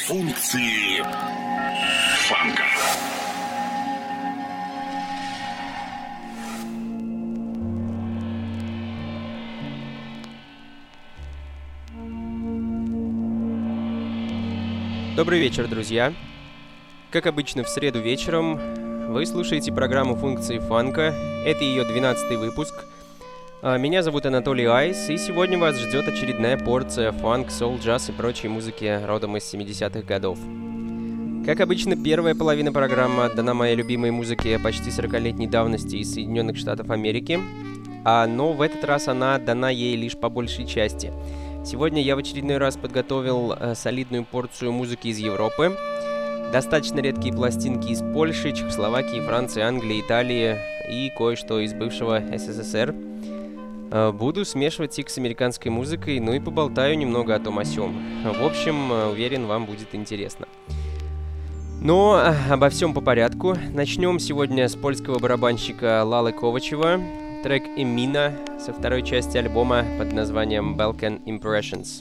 Функции фанка. Добрый вечер, друзья! Как обычно, в среду вечером вы слушаете программу «Функции фанка». Это ее 12-й выпуск. Меня зовут Анатолий Айс, и сегодня вас ждет очередная порция фанк, соул, джаз и прочей музыки родом из 70-х годов. Как обычно, первая половина программы отдана моей любимой музыке почти 40-летней давности из Соединенных Штатов Америки, но в этот раз она отдана ей лишь по большей части. Сегодня я в очередной раз подготовил солидную порцию музыки из Европы, достаточно редкие пластинки из Польши, Чехословакии, Франции, Англии, Италии и кое-что из бывшего СССР. Буду смешивать их с американской музыкой, ну и поболтаю немного о том о сём. В общем, уверен, вам будет интересно. Но обо всем по порядку. Начнем сегодня с польского барабанщика Лалы Ковачева. Трек «Эмина» со второй части альбома под названием «Balkan Impressions».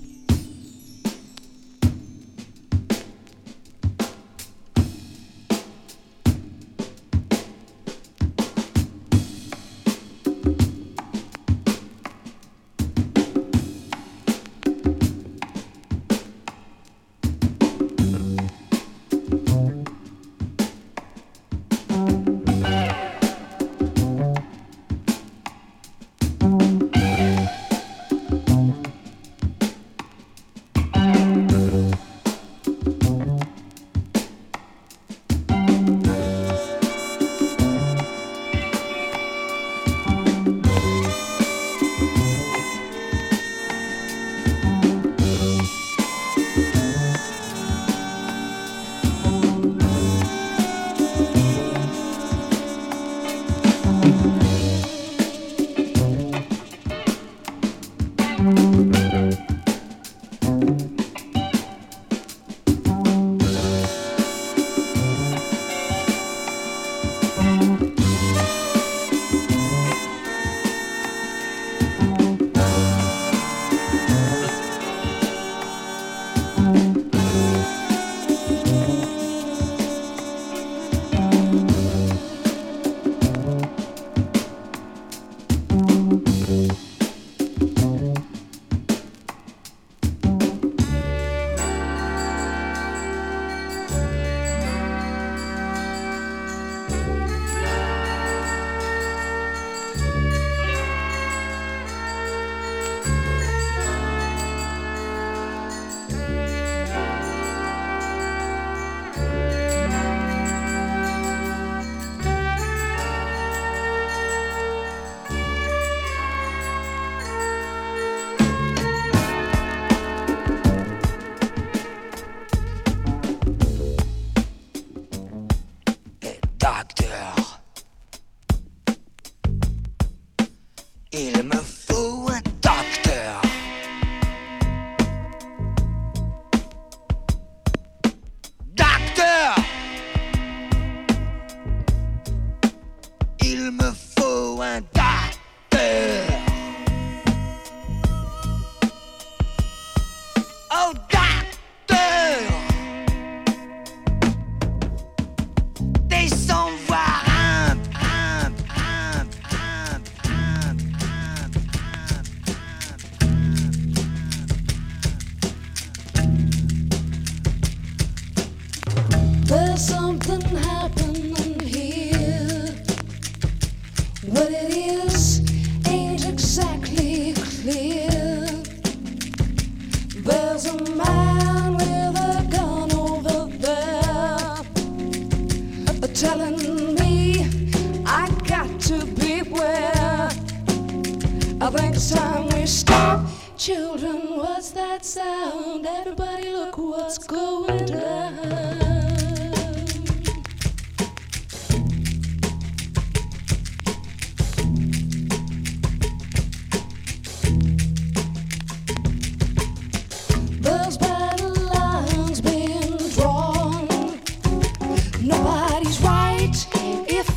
Nobody's right if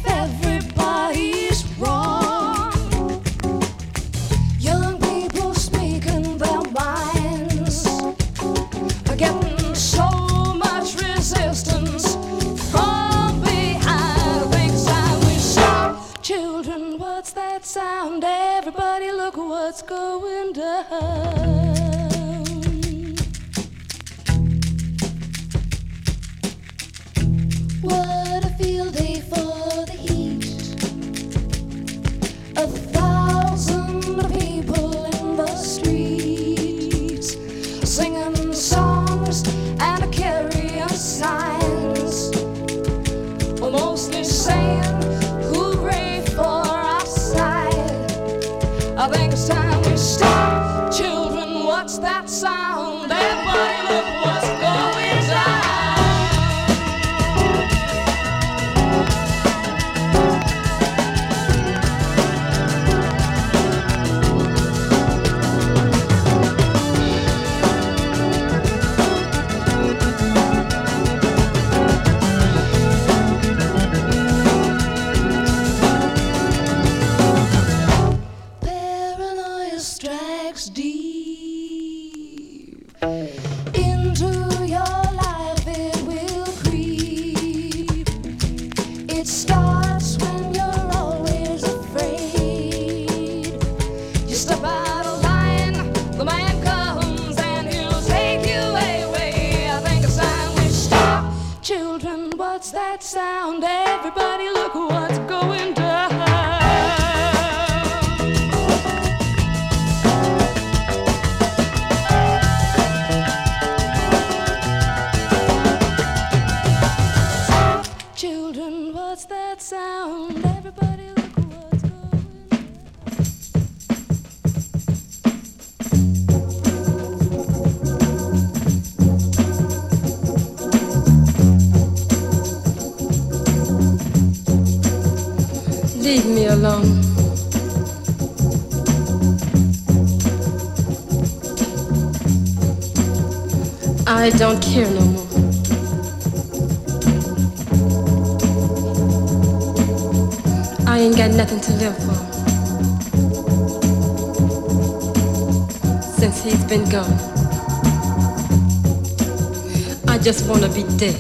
everybody's wrong. Young people speaking their minds. sound? Everybody look what's going down. Children, what's that sound? Everybody look what's going down. Leave me alone. I don't care no more. I ain't got nothing to live for since he's been gone. I just wanna be dead.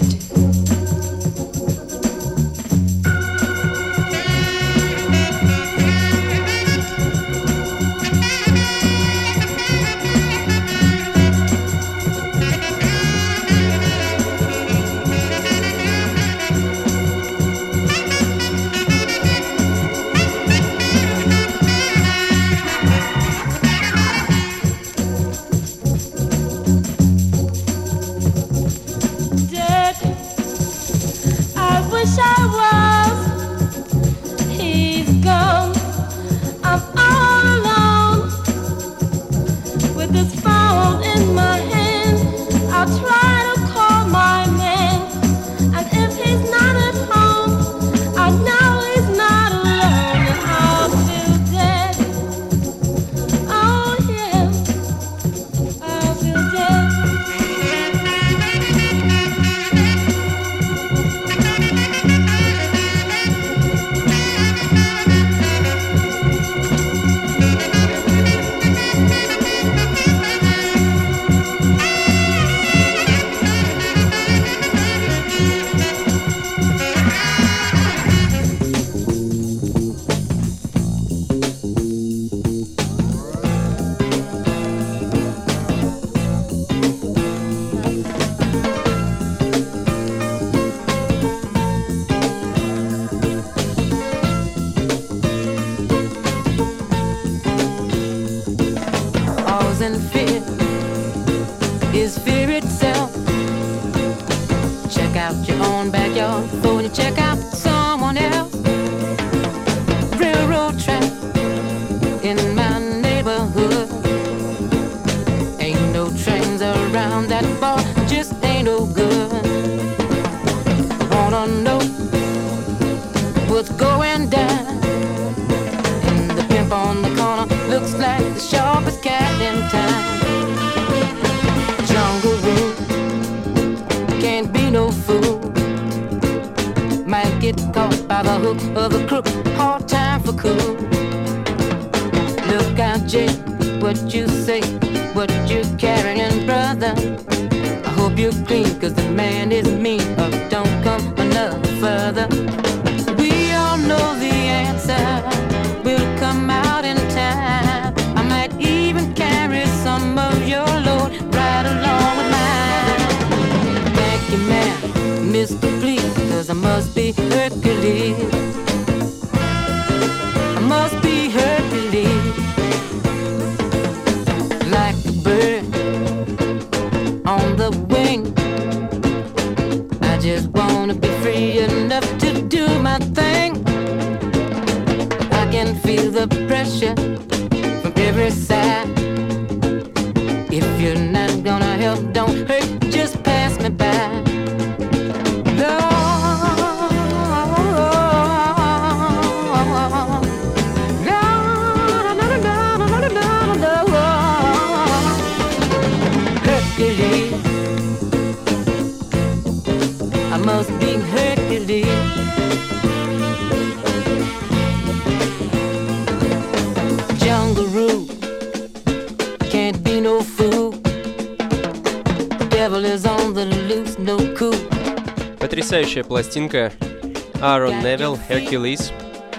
Потрясающая пластинка Aaron Neville, Hercules.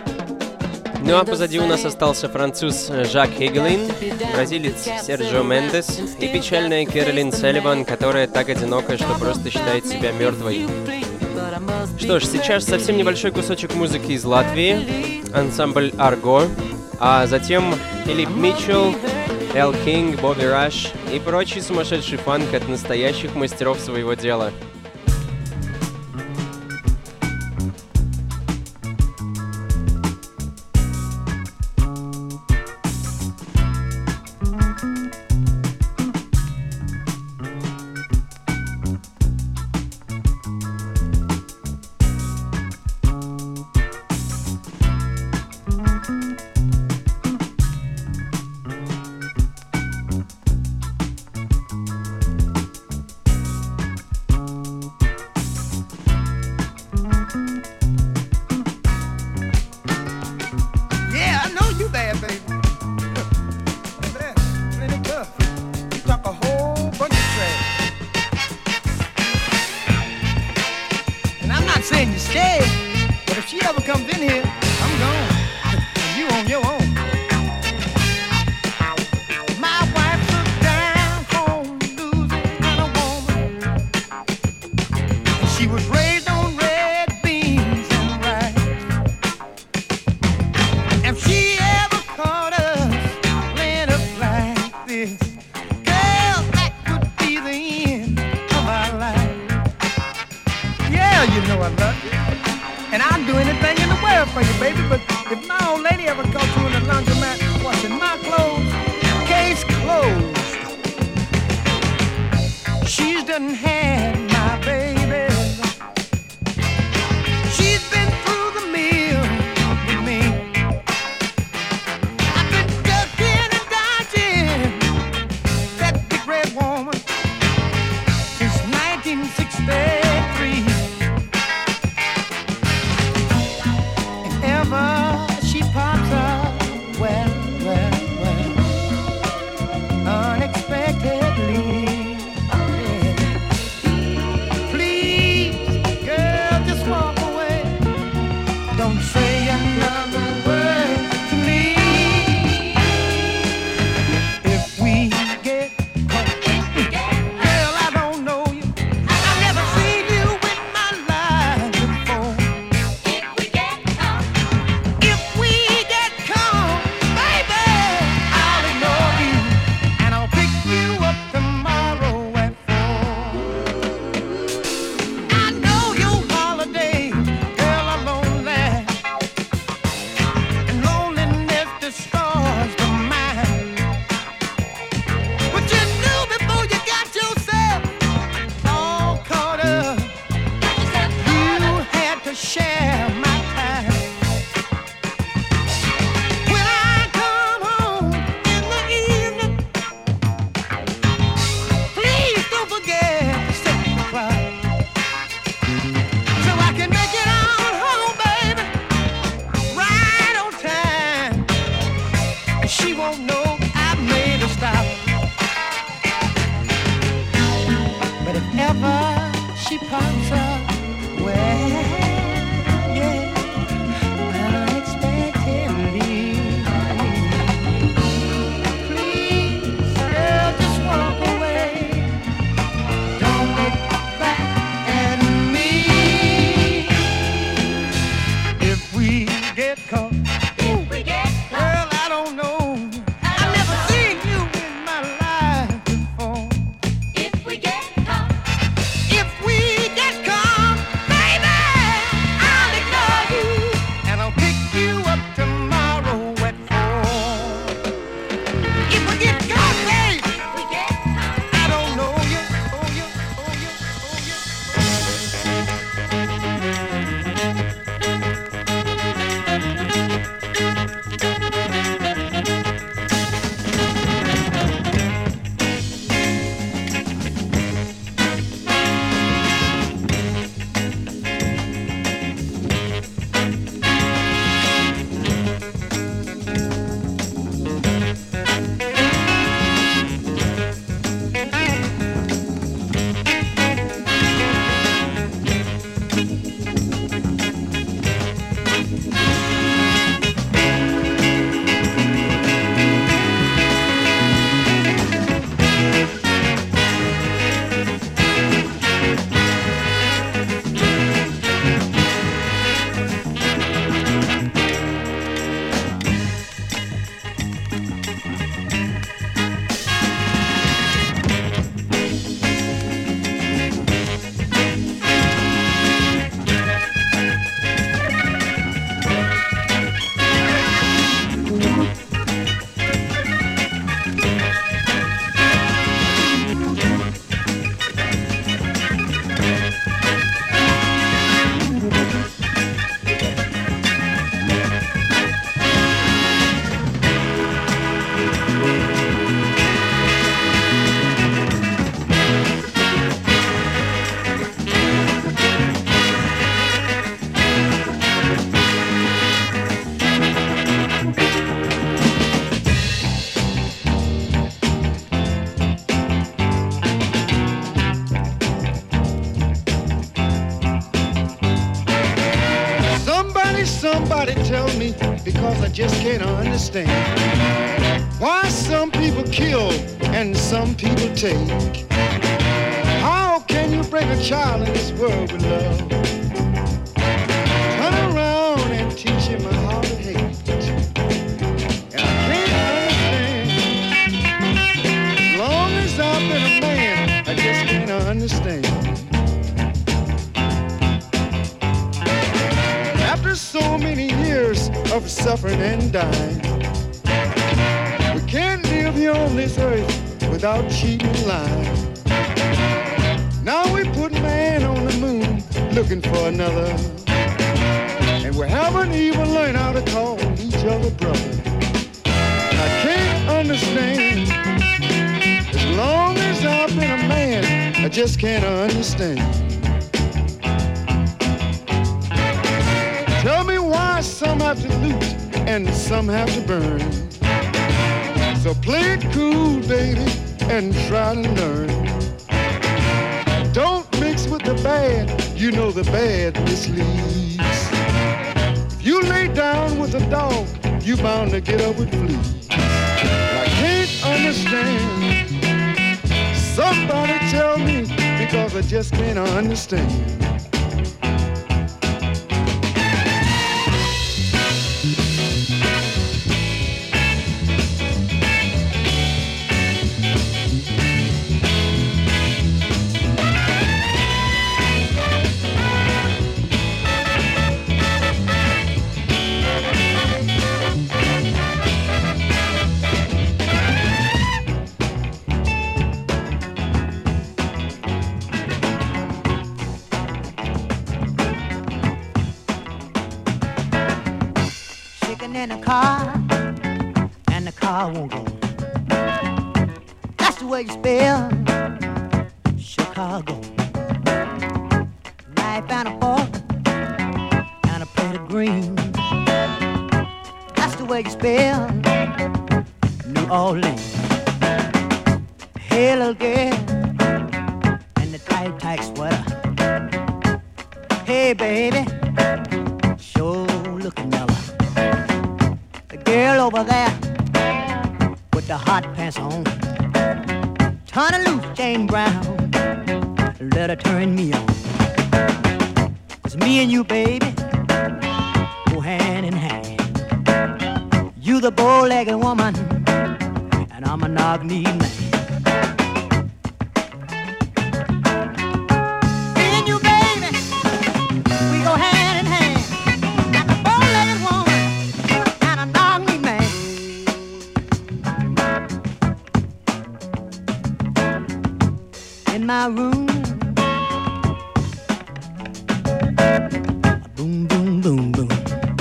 Ну а позади у нас остался француз Жак Хигелин, бразилец Серджио Мендес и печальная Кэролин Салливан, которая так одинока, что просто считает себя мертвой. Что ж, сейчас совсем небольшой кусочек музыки из Латвии, ансамбль Арго, а затем Филипп Митчелл, Эл Кинг, Бобби Раш и прочий сумасшедший фанк от настоящих мастеров своего дела. If we get caught, baby, Somebody tell me, because I just can't understand why some people kill and some people take. How can you break a child in this world with love? Turn around and teach him how to hate. And I can't understand. As long as I've been a man, I just can't understand. After so many years of suffering and dying, we can't live here on this earth without cheating and lying. Now we put man on the moon looking for another, and we haven't even learned how to call each other brother. I can't understand. As long as I've been a man, I just can't understand. Tell me why some have to loot and some have to burn. So play it cool, baby, and try to learn. Don't mix with the bad, you know the bad misleads. If you lay down with a dog, you bound to get up with fleas. I can't understand. Somebody tell me, because I just can't understand. In a car, and the car won't go. That's the way you spell Chicago. Knife and a fork and a plate of green. That's the way you spell New Orleans. Hey, little girl, in the tight, tight sweater. Hey, baby, sure looking mellow. Girl over there with the hot pants on, turn her loose, Jane Brown, let her turn me on. It's me and you, baby, go hand in hand. You the bow-legged woman, and I'm a knock-knee man. Me and you, baby, we go hand in hand. Like a bow-legged woman and a knock-knee man. In my room, boom, boom, boom, boom.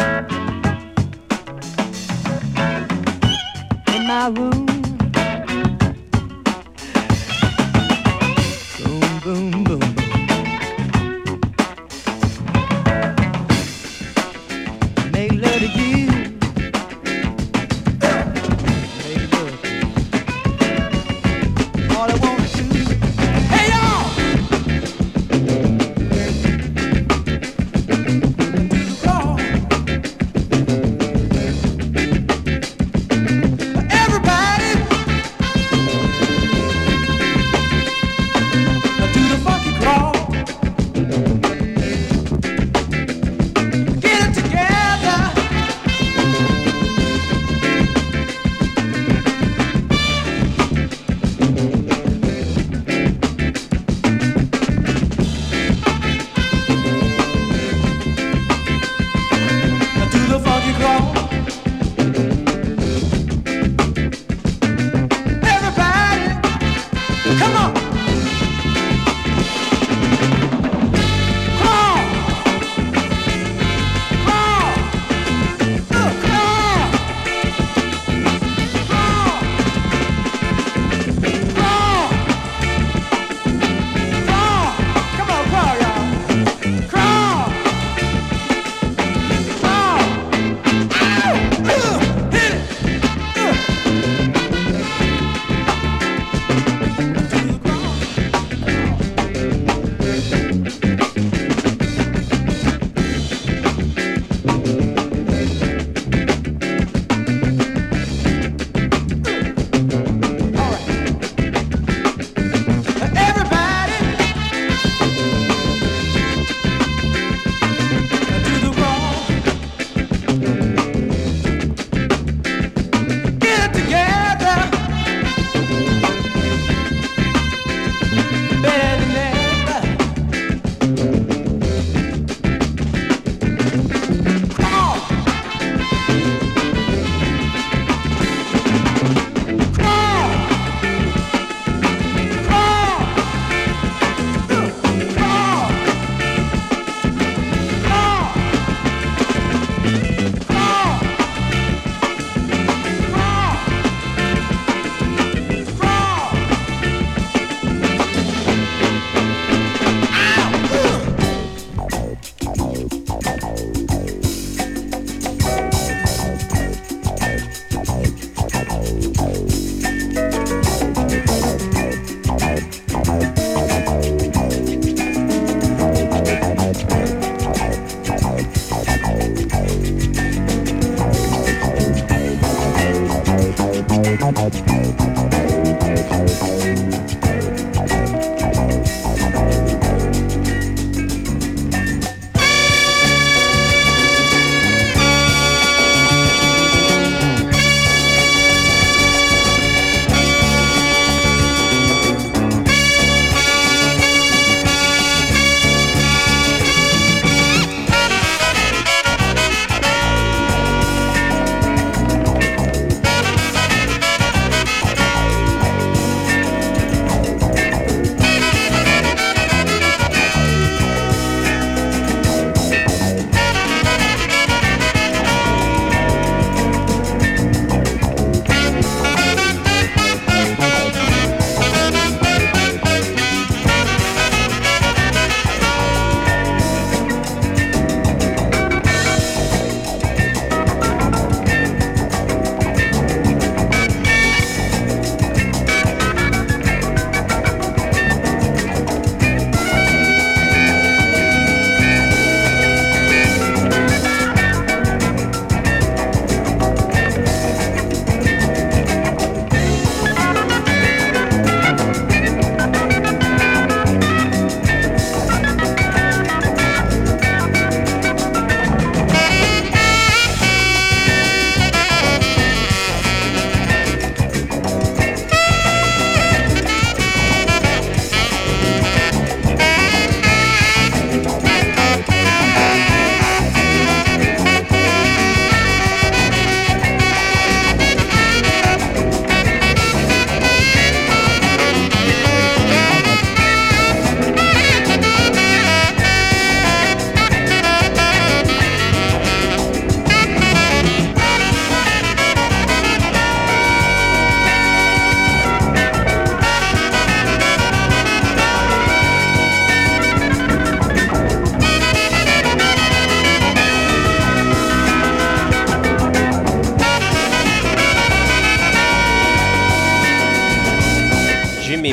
In my room, boom, boom, boom, boom. Make love to you. Make love to you. All I want to do. Hey y'all!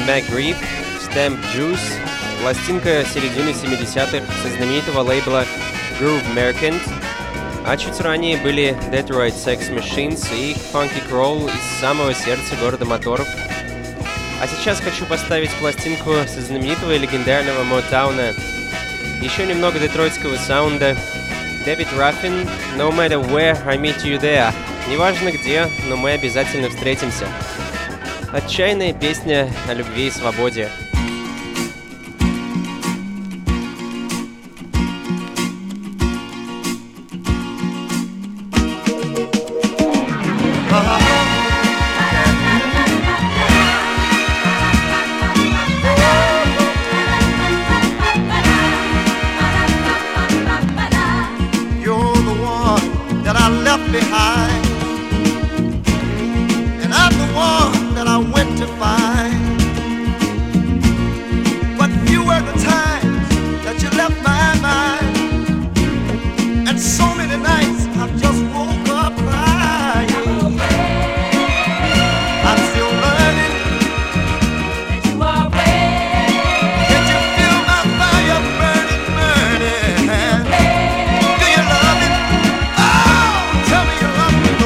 McGreep, Stamp Juice, пластинка середины 70-х со знаменитого лейбла Groove Merchant, а чуть ранее были Detroit Sex Machines и Funky Crawl из самого сердца города моторов. А сейчас хочу поставить пластинку со знаменитого и легендарного Мотауна. Еще немного детройтского саунда. David Ruffin, No matter where, I meet you there. Неважно где, но мы обязательно встретимся. Отчаянная песня о любви и свободе. Behind, and I'm the one that I went to find. But few were the times that you left my mind, and so many nights I've just woke up crying. I'm still learning that you are real. Can you feel my fire burning, burning? Do you love me? Oh, tell me you love me.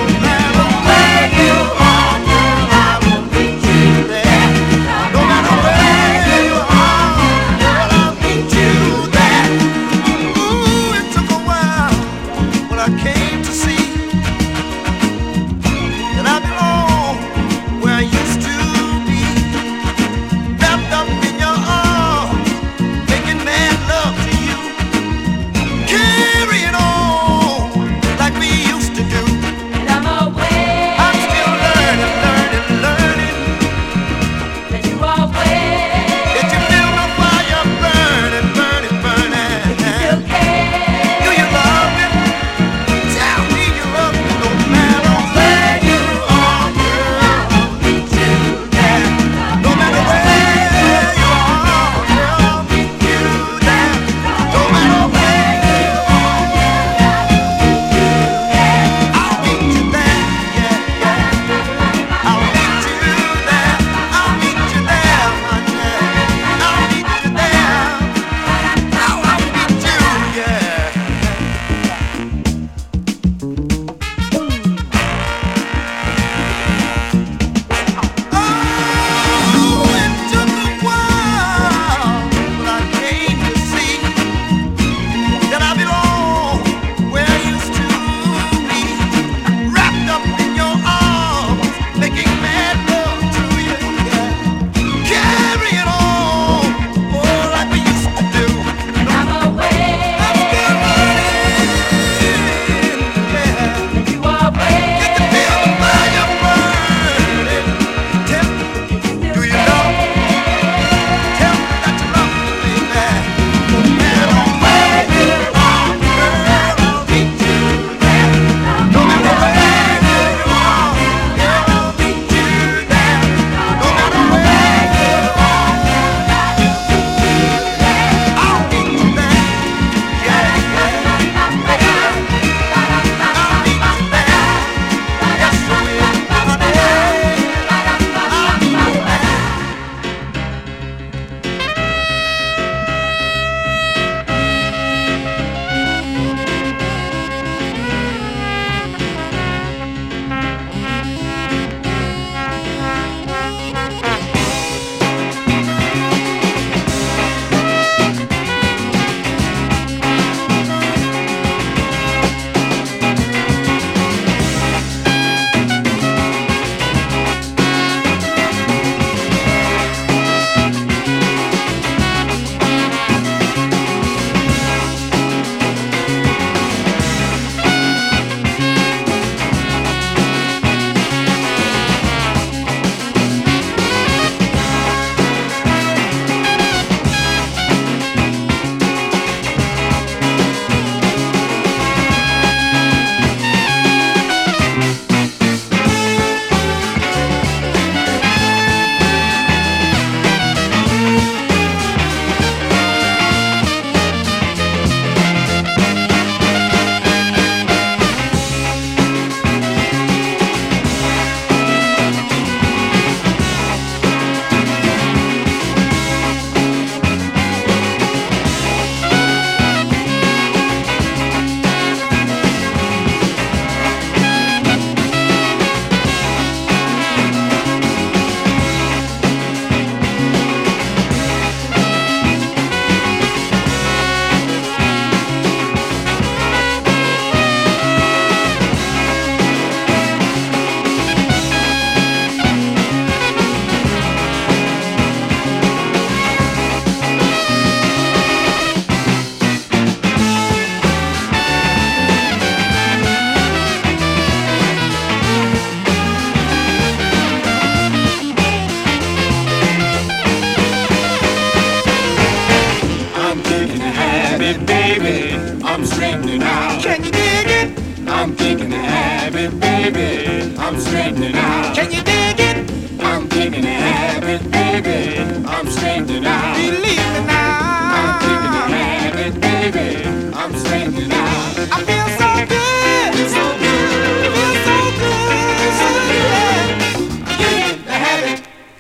habit, baby. I'm straightening out. Can you dig it? I'm kicking the habit, baby. I'm straightening out. Can you dig it? I'm kicking the habit, baby. I'm straightening out. Believe me now. I'm kicking the habit, baby. I'm straightening out. I feel so good. Feel so good. Feel so good. Feel so good. I'm kicking the habit.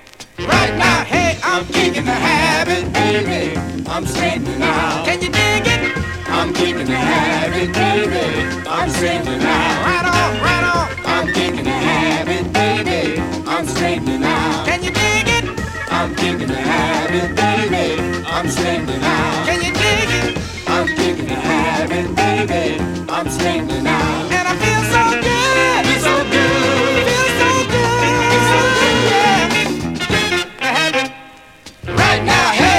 Right now, hey, I'm kicking the habit, baby. I'm straightening out. Can you dig it? I'm kicking the habit, baby. I'm straightening out. Right on, right on. I'm kicking the habit, baby. I'm straightening out. Can you dig it? I'm kicking the habit, baby. I'm straightening out. Can you dig it? I'm kicking the habit, baby. I'm straightening out. And I feel so good. Feel so good. Feel so good. Feel so good. Yeah. The habit. Right now, hey.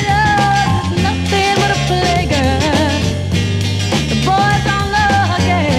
Nothing but a playgirl. The boys don't love her, yeah.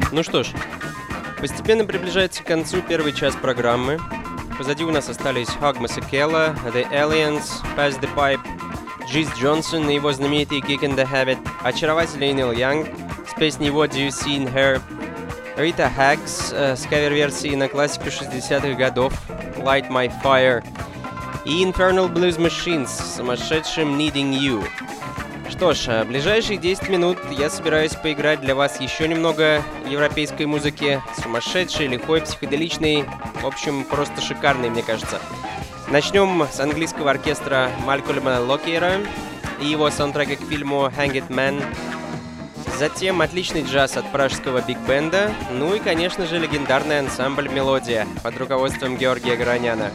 Ну что ж, постепенно приближается к концу первый час программы. Позади у нас остались Hugh Masekela, The Aliens, Pass the Pipe, Джиз Джонсон и его знаменитый Kick in the Habit, очаровательный Нил Янг с песней What Do You See in Her, Рита Хакс с кавер-версией на классику 60-х годов Light My Fire и Infernal Blues Machines с сумасшедшим Needing You. Что ж, ближайшие 10 минут я собираюсь поиграть для вас еще немного европейской музыки, сумасшедшей, лихой, психоделичной, в общем, просто шикарной, мне кажется. Начнем с английского оркестра Малькольма Локейра и его саундтрека к фильму Hang It Man. Затем отличный джаз от пражского биг-бенда, ну и, конечно же, легендарный ансамбль «Мелодия» под руководством Георгия Гороняна.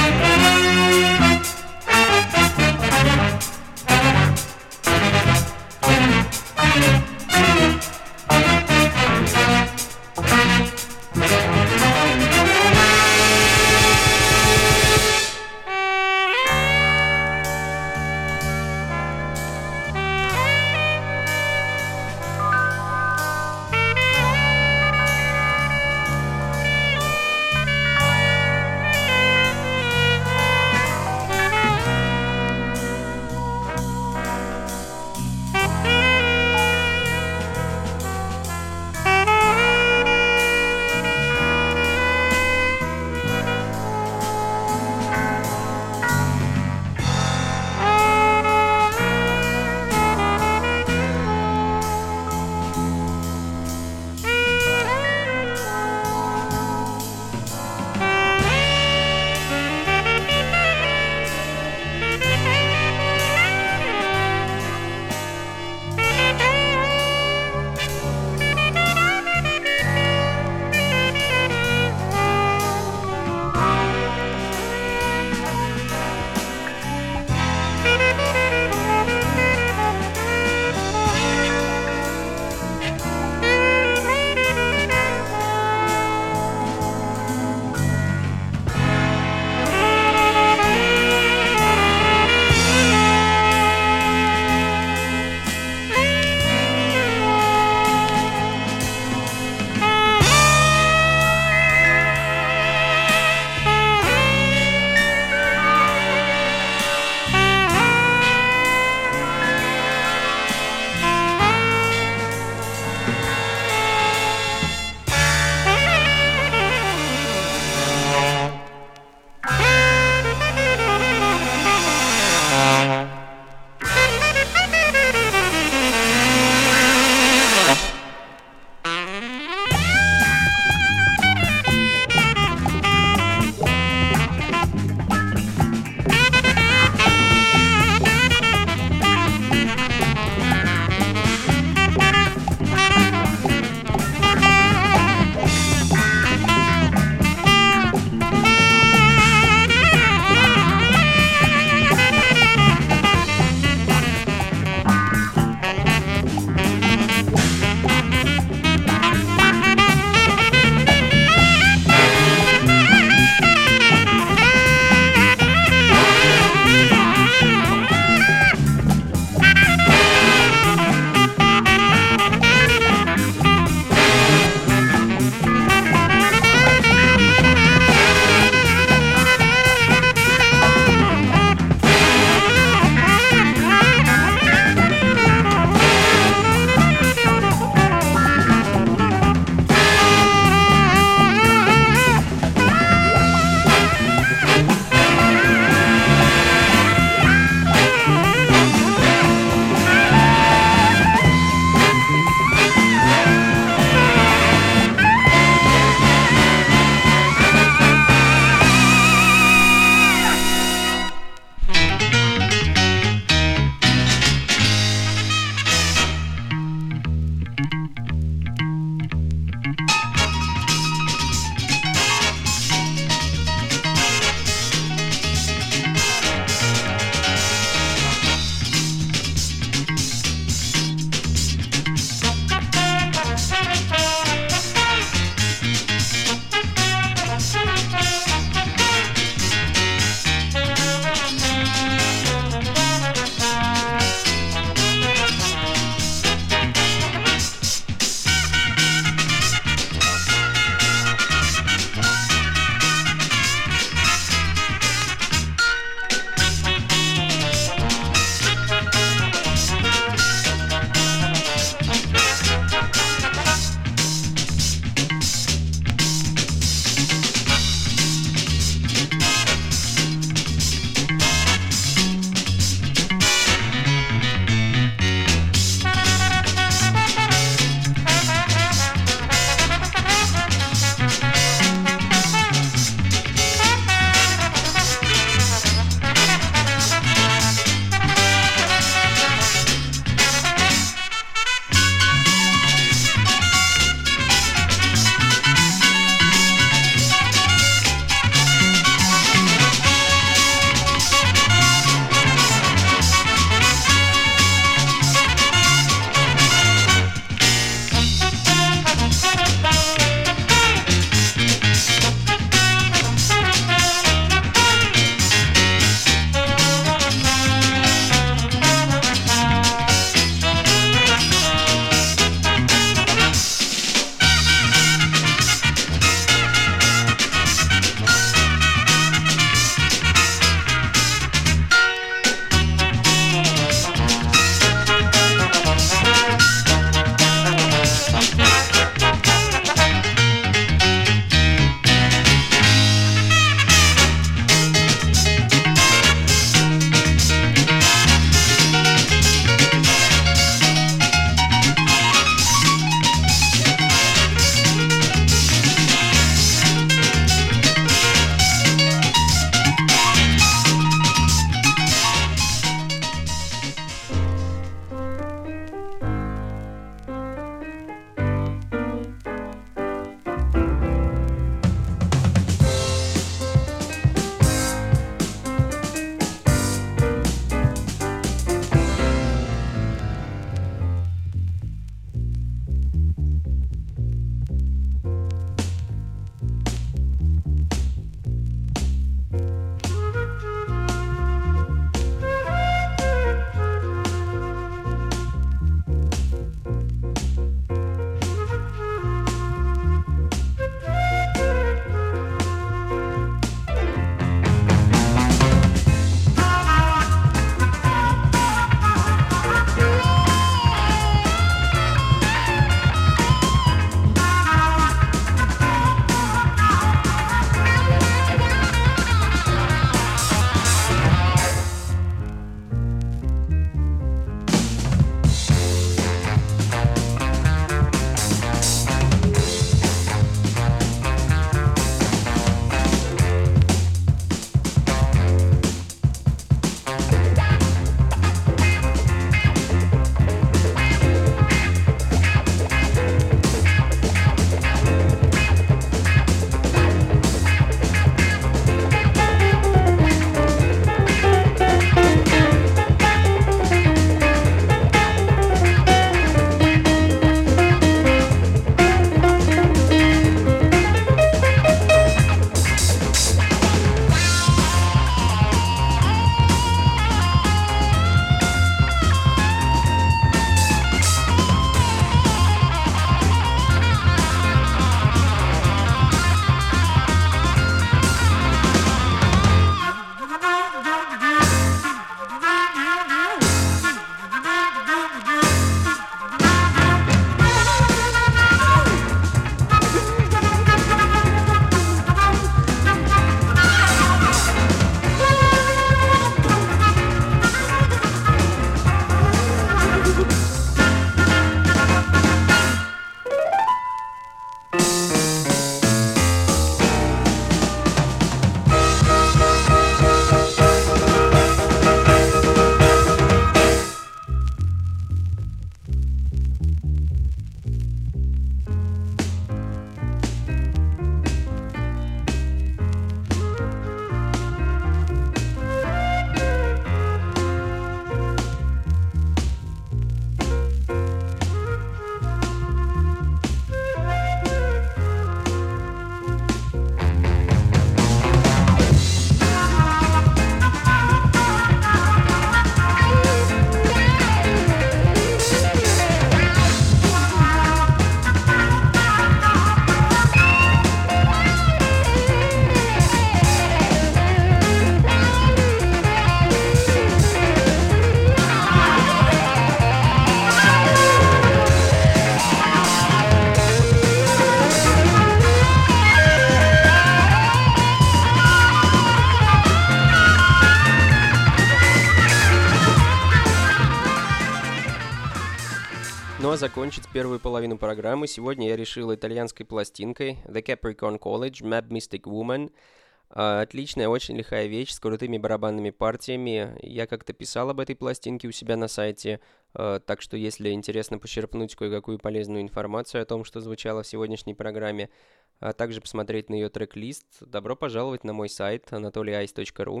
Ну а закончить первую половину программы сегодня я решил итальянской пластинкой The Capricorn College Mad Mystic Woman. Отличная, очень лихая вещь с крутыми барабанными партиями. Я как-то писал об этой пластинке у себя на сайте, так что если интересно почерпнуть кое-какую полезную информацию о том, что звучало в сегодняшней программе, а также посмотреть на ее трек-лист, добро пожаловать на мой сайт anatolyice.ru.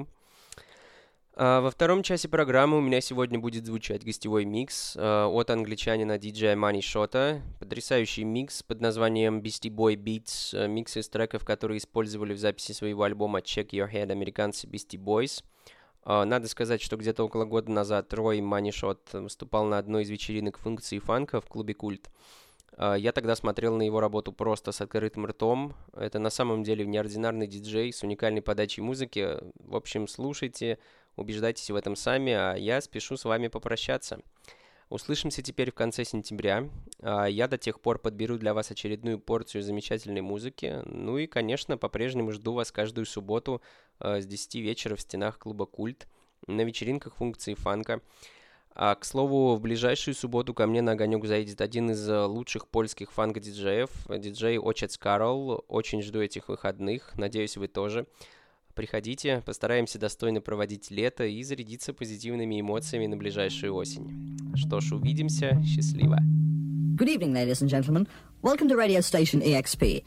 Во втором часе программы у меня сегодня будет звучать гостевой микс от англичанина диджея Money Shot'а. Потрясающий микс под названием Beastie Boy Beats, микс из треков, которые использовали в записи своего альбома Check Your Head американцы Beastie Boys. Надо сказать, что где-то около года назад Рой Money Shot выступал на одной из вечеринок функции фанка в клубе Культ. Я тогда смотрел на его работу просто с открытым ртом. Это на самом деле неординарный диджей с уникальной подачей музыки. В общем, слушайте, убеждайтесь в этом сами, а я спешу с вами попрощаться. Услышимся теперь в конце сентября. Я до тех пор подберу для вас очередную порцию замечательной музыки. Ну и, конечно, по-прежнему жду вас каждую субботу с 10 вечера в стенах клуба Культ на вечеринках функции фанка. К слову, в ближайшую субботу ко мне на огонек заедет один из лучших польских фанк-диджеев, диджей Ojciec Karol. Очень жду этих выходных, надеюсь, вы тоже. Приходите, постараемся достойно проводить лето и зарядиться позитивными эмоциями на ближайшую осень. Что ж, увидимся. Счастливо. Good evening, ladies and gentlemen. Welcome to radio station EXP.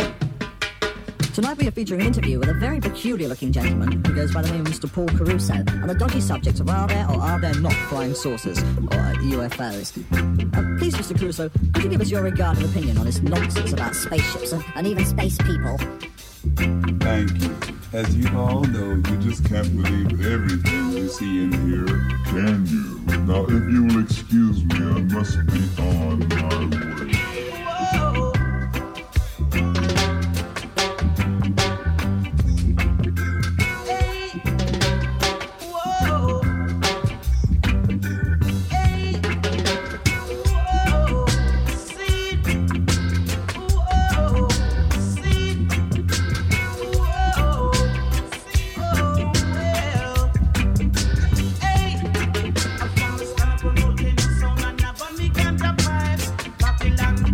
Tonight we are featuring an interview with a very peculiar-looking gentleman who goes by the name of Mr. Paul Caruso on the dodgy subject of are there or are there not flying saucers, or UFOs. Please, Mr. Caruso, could you give us your regarded opinion on this nonsense about spaceships and even space people? Thank you. As you all know, you just can't believe everything you see and hear, can you? Now, if you will excuse me, I must be on my way. Babylon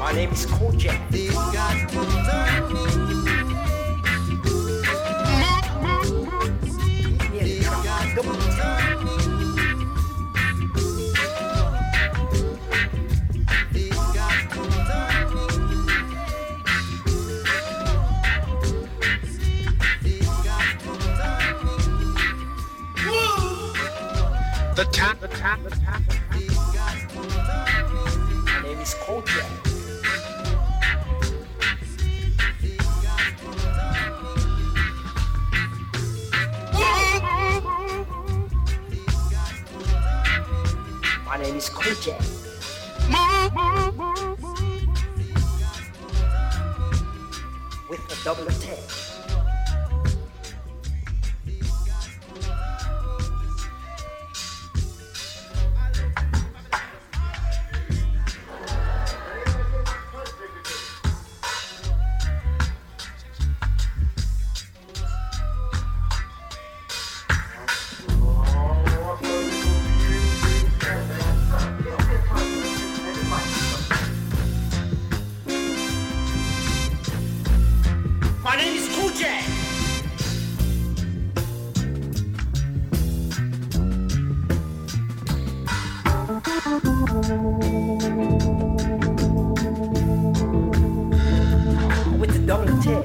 My name is Kojak. These guys will turn me. These guys will turn me. These guys will turn me. These guys will turn me. The tap. These guys will turn me. My name is Kojak. My name is Kojak. With a double attack. My name is Kojak. With the double attack.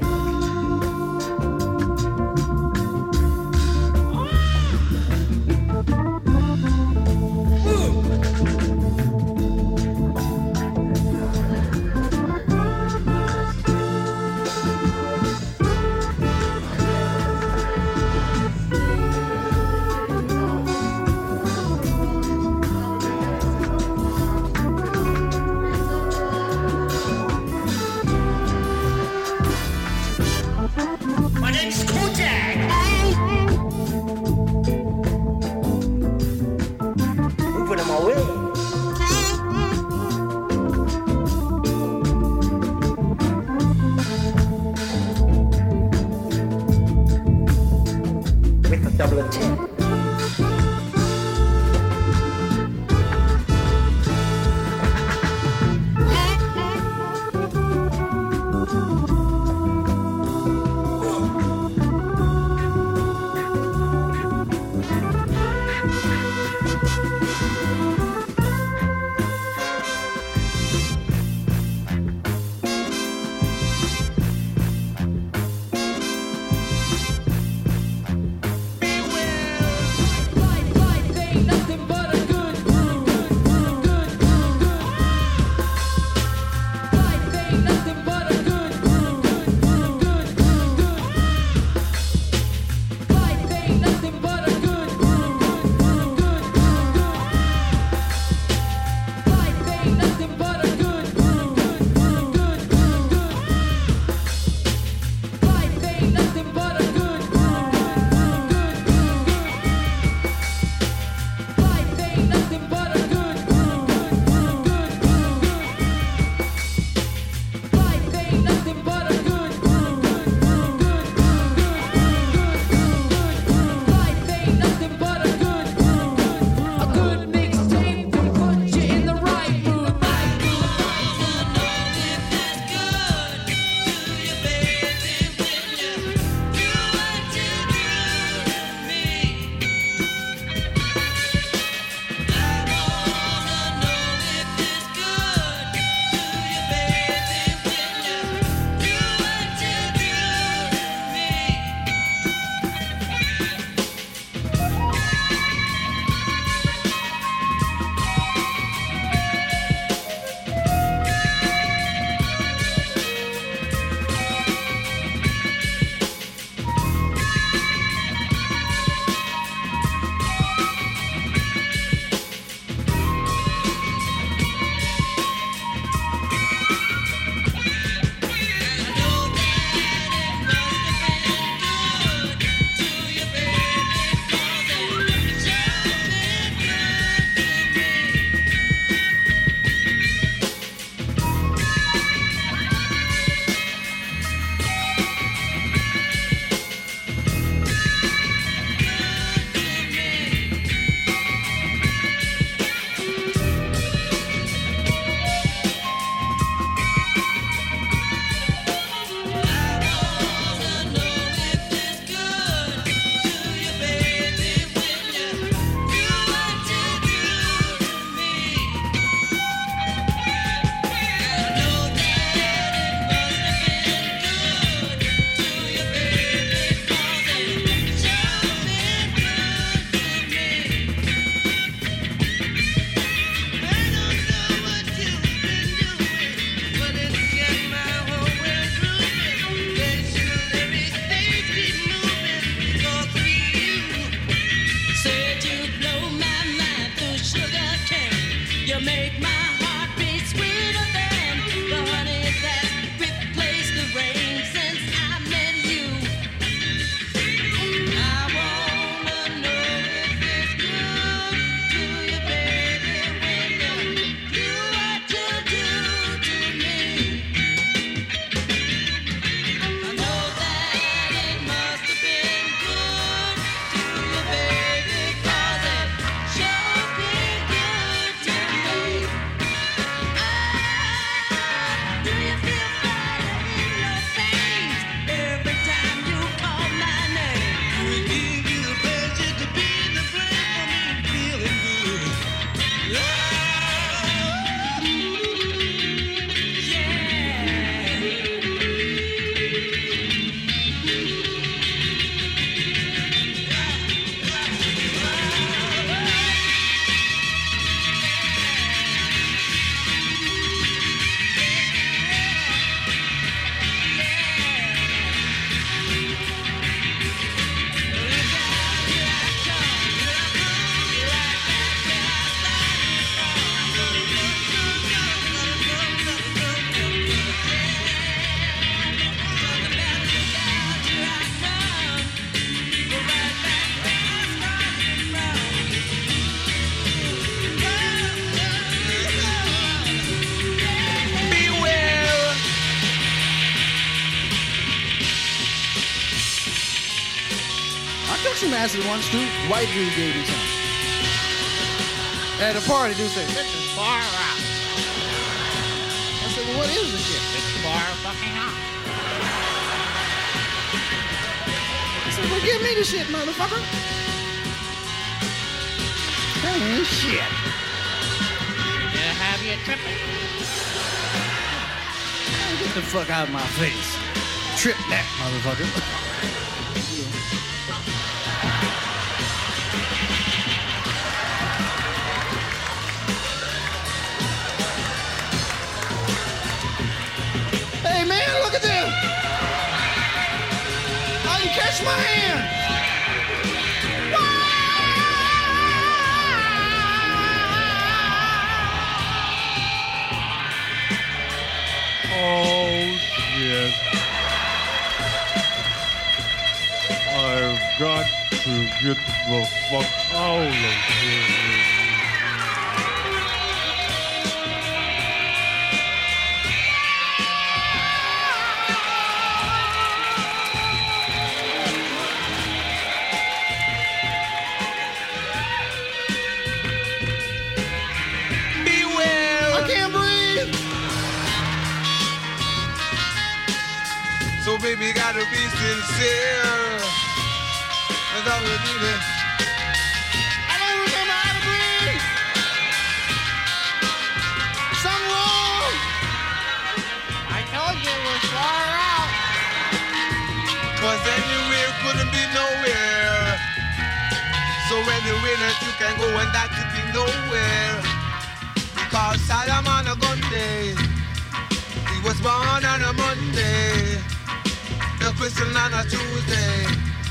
My name is Kojak. Moving on my way. With a double attack. Beware acid once too. White dude gave me some. At a party, dude said, "This is far out." I said, "Well, what is this shit?" "It's far fucking out." I said, "Well, give me the shit, motherfucker." That ain't shit. Yeah, have you tripping? Get the fuck out of my face. Trip that, motherfucker. Hey, man, look at this. I can catch my hand. Oh, shit. I've got to get the fuck out of here. Beware! I can't breathe. So baby, gotta be sincere. Cause I would need it. I don't remember how to breathe. Something wrong. I told you it was far out. Cause anywhere couldn't be nowhere. So anywhere that you can go and that you can nowhere. Cause Solomon a Gunday. He was born on a Monday. The Christian on a Tuesday.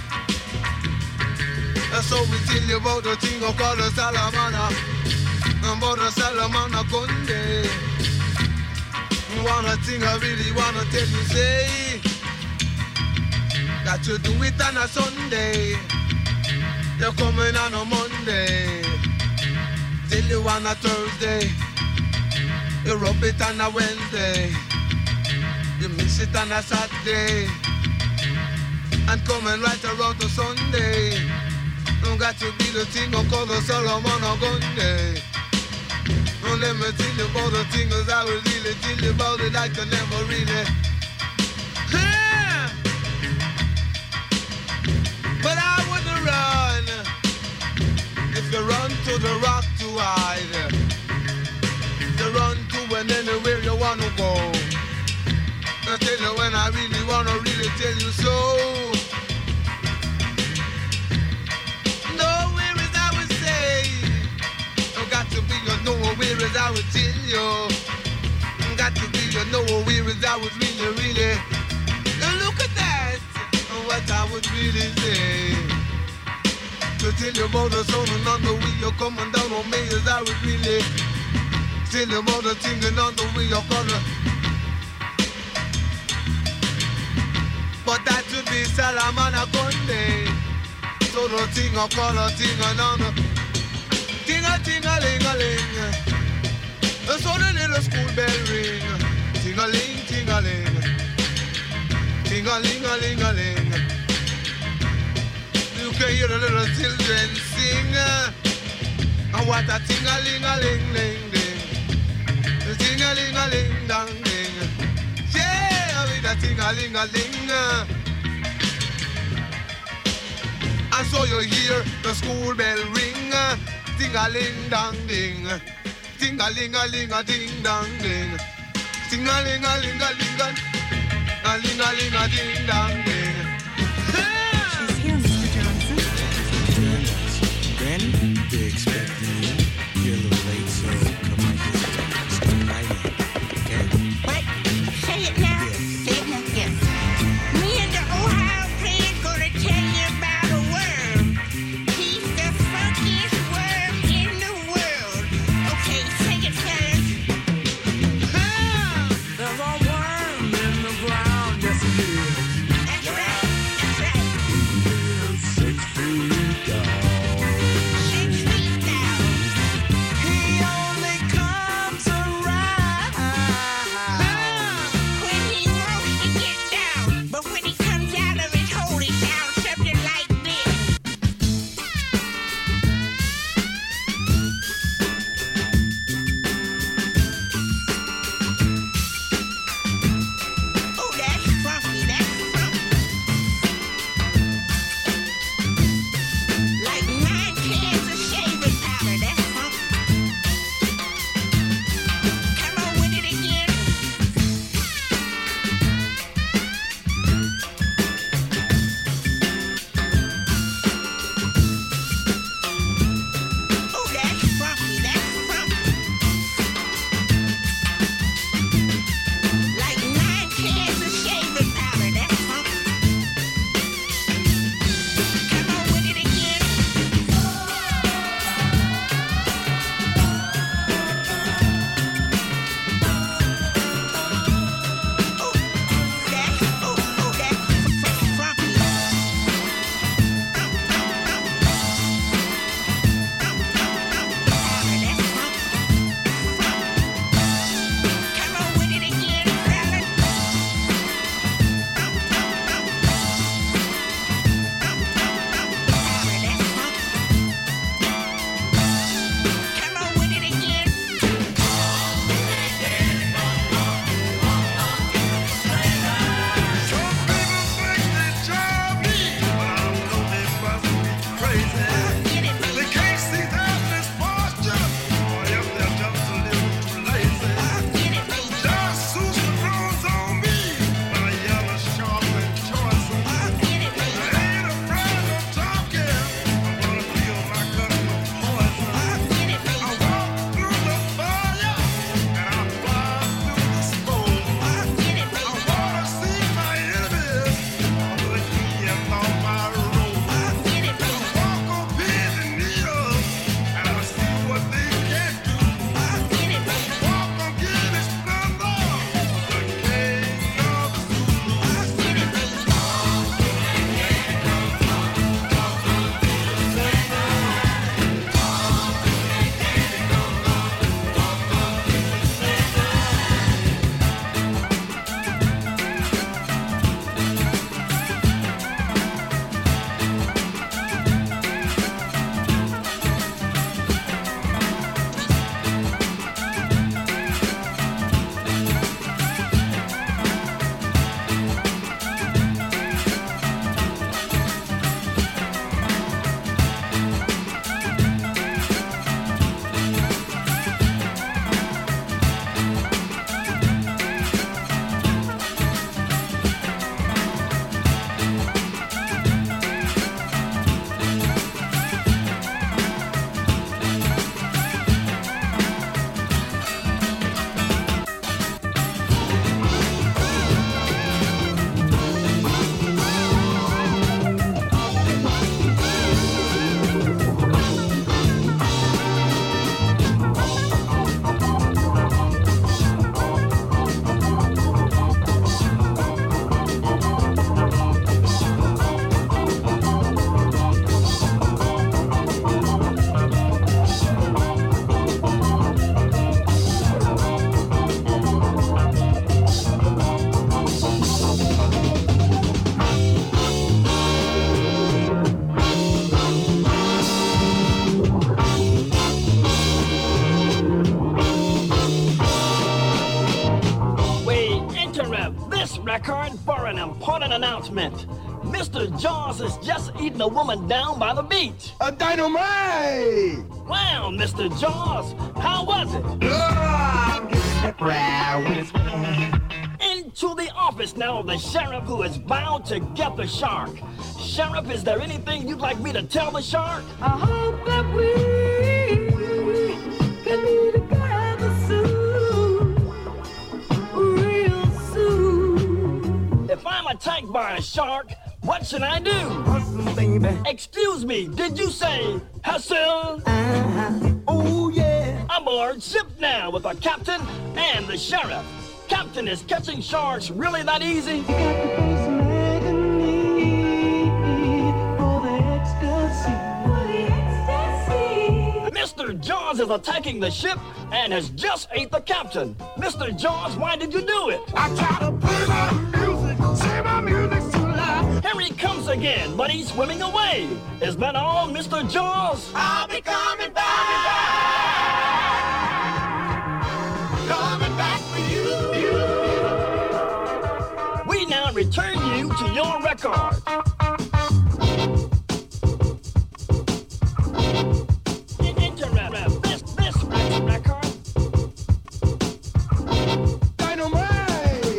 So we tell you about the thing of called the Solomon. About the Solomon a Gunday. One thing I really wanna tell you, say that you do it on a Sunday. You're coming on a Monday. Till you on a Thursday. You rub it on a Wednesday. You mix it on a Saturday. And coming right around to Sunday. Don't got to be the thing of call the Solomon a Gunday. Don't let me tell you about the things I will really tell you about it. I can never really. But I wouldn't run if you run to the rock to hide. You run to and anywhere you wanna go. I tell you when I really wanna really tell you so. Nowhere as I would say. You got to be your nowhere as I would tell you. Got to be your nowhere as I would really, really. Look at that. What I would really say. To tell you about the sun and on the way you're coming down on me as I would really. Tell you about the thing and on the way you're gonna. But that should be Solomon a Gunday. So the thing I call a thing and on the ting-a-ting-a-ling-a-ling. So the little school bell ring. Ting-a-ling, ting-a-ling. Ting-a-ling-a-ling-a-ling. You can hear the little children sing. And what a ting-a-ling-a-ling-ling-ling. Ting-a-ling-a-ling-dang-ling. Yeah, with a ting-a-ling-a-ling. And so you hear the school bell ring. Ting-a-ling-dang-ding. Ting-a-ling-a-ling-a-ding-dang-ding. Ting-a-ling-a-ling-a-ling-a-ling. A-ling-a-ling-a-ding-dang-ding. She's here, Mr. Johnson. Granny, they're expecting you. You're a little late, so come on, just come right in, okay? What? Say it now. Say it now. Yes. Me and the Ohio player's gonna tell you about a worm. He's the funkiest worm in the world. Okay, sing it, fellas. There's a worm in the ground, yes it is. That's right. record for an important announcement. Mr. Jaws has just eaten a woman down by the beach. A dynamite! Wow, Mr. Jaws, how was it? Into the office now of the sheriff who is bound to get the shark. Sheriff, is there anything you'd like me to tell the shark? I hope that we can be together soon, real soon. If I'm attacked by a shark, what should I do? Baby. Excuse me, did you say Hassan? Oh, yeah. Aboard ship now with the captain and the sheriff. Captain, is catching sharks really that easy? You got to pay some agony for the ecstasy. Mr. Jaws is attacking the ship and has just ate the captain. Mr. Jaws, why did you do it? I try to play my music, say my music's too loud. Here he comes again, but he's swimming away. Is that all, Mr. Jaws? I'll be coming back. Coming back for you. We now return you to your record. This record. Dynamite!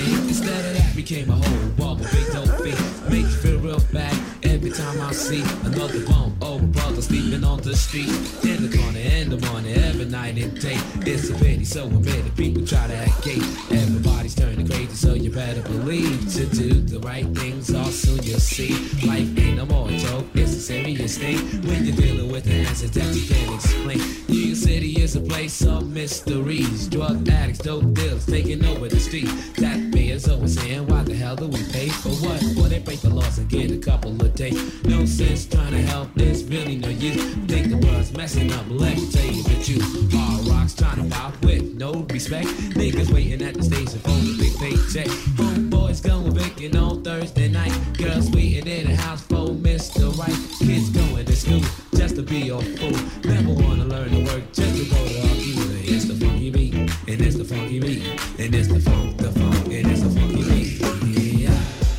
Instead of that became a whole bubble, big dope feet. Make you feel real bad every time I see another bum. Oh, a brother sleeping on the street. In the corner, in the morning, every night and day. It's a pity, so admitted. People try to act gay. Everybody's turning crazy, so you better believe to do the right things, or soon you'll see. Life ain't no more a joke, it's a serious thing. When you're dealing with the answers that you can't explain. New York City is a place of mysteries. Drug addicts, dope dealers, taking over the street. That man's always saying, why the hell do we pay for what? Well, they break the laws and get a couple of days. No sense trying to help, there's really no use. Think the world's messing up, let me tell you the truth. Hard rocks trying to pop with no respect. Niggas waiting at the station for the big paycheck. Homeboys going vacant on Thursday night. Girls waiting in the house for Mr. Right. Kids going to school just to be a fool. Never wanna learn to work just to go to our either. It's the funky beat, and it's the funky beat, and it's the funk, and it's the funky beat. Yeah.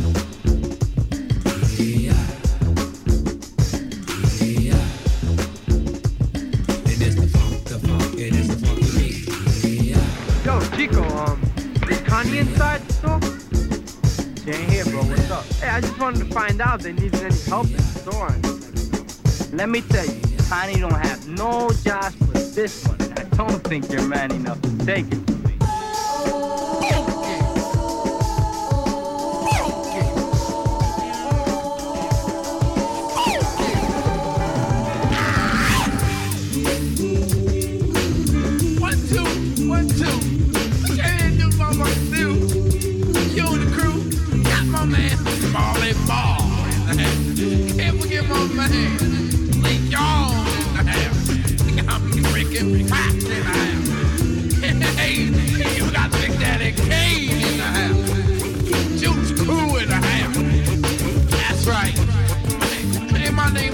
Yeah. Yeah. And it's the funk, and it's the funky beat. Yeah. Yo, Chico, is Connie inside the store? She ain't here, bro. What's up? Hey, I just wanted to find out if they needed any help in the store. Let me tell you, Connie don't have no jobs but this one. I don't think you're man enough to take it. Can't forget my man, Lee Jones in the house. I'm freaking Pop in the house. Hey, you got Big Daddy Kane in the house. Juice Crew in the house. That's right. Hey, my name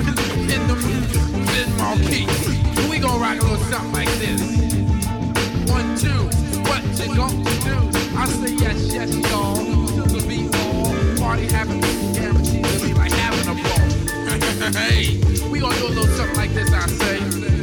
is Ben Marquis. We gonna rock a little something like this. 1, 2, what you gonna do? I say yes, yes, y'all. Till the beat all party having guaranteed to be like having a ball. Hey, we gonna do a little something like this, I say.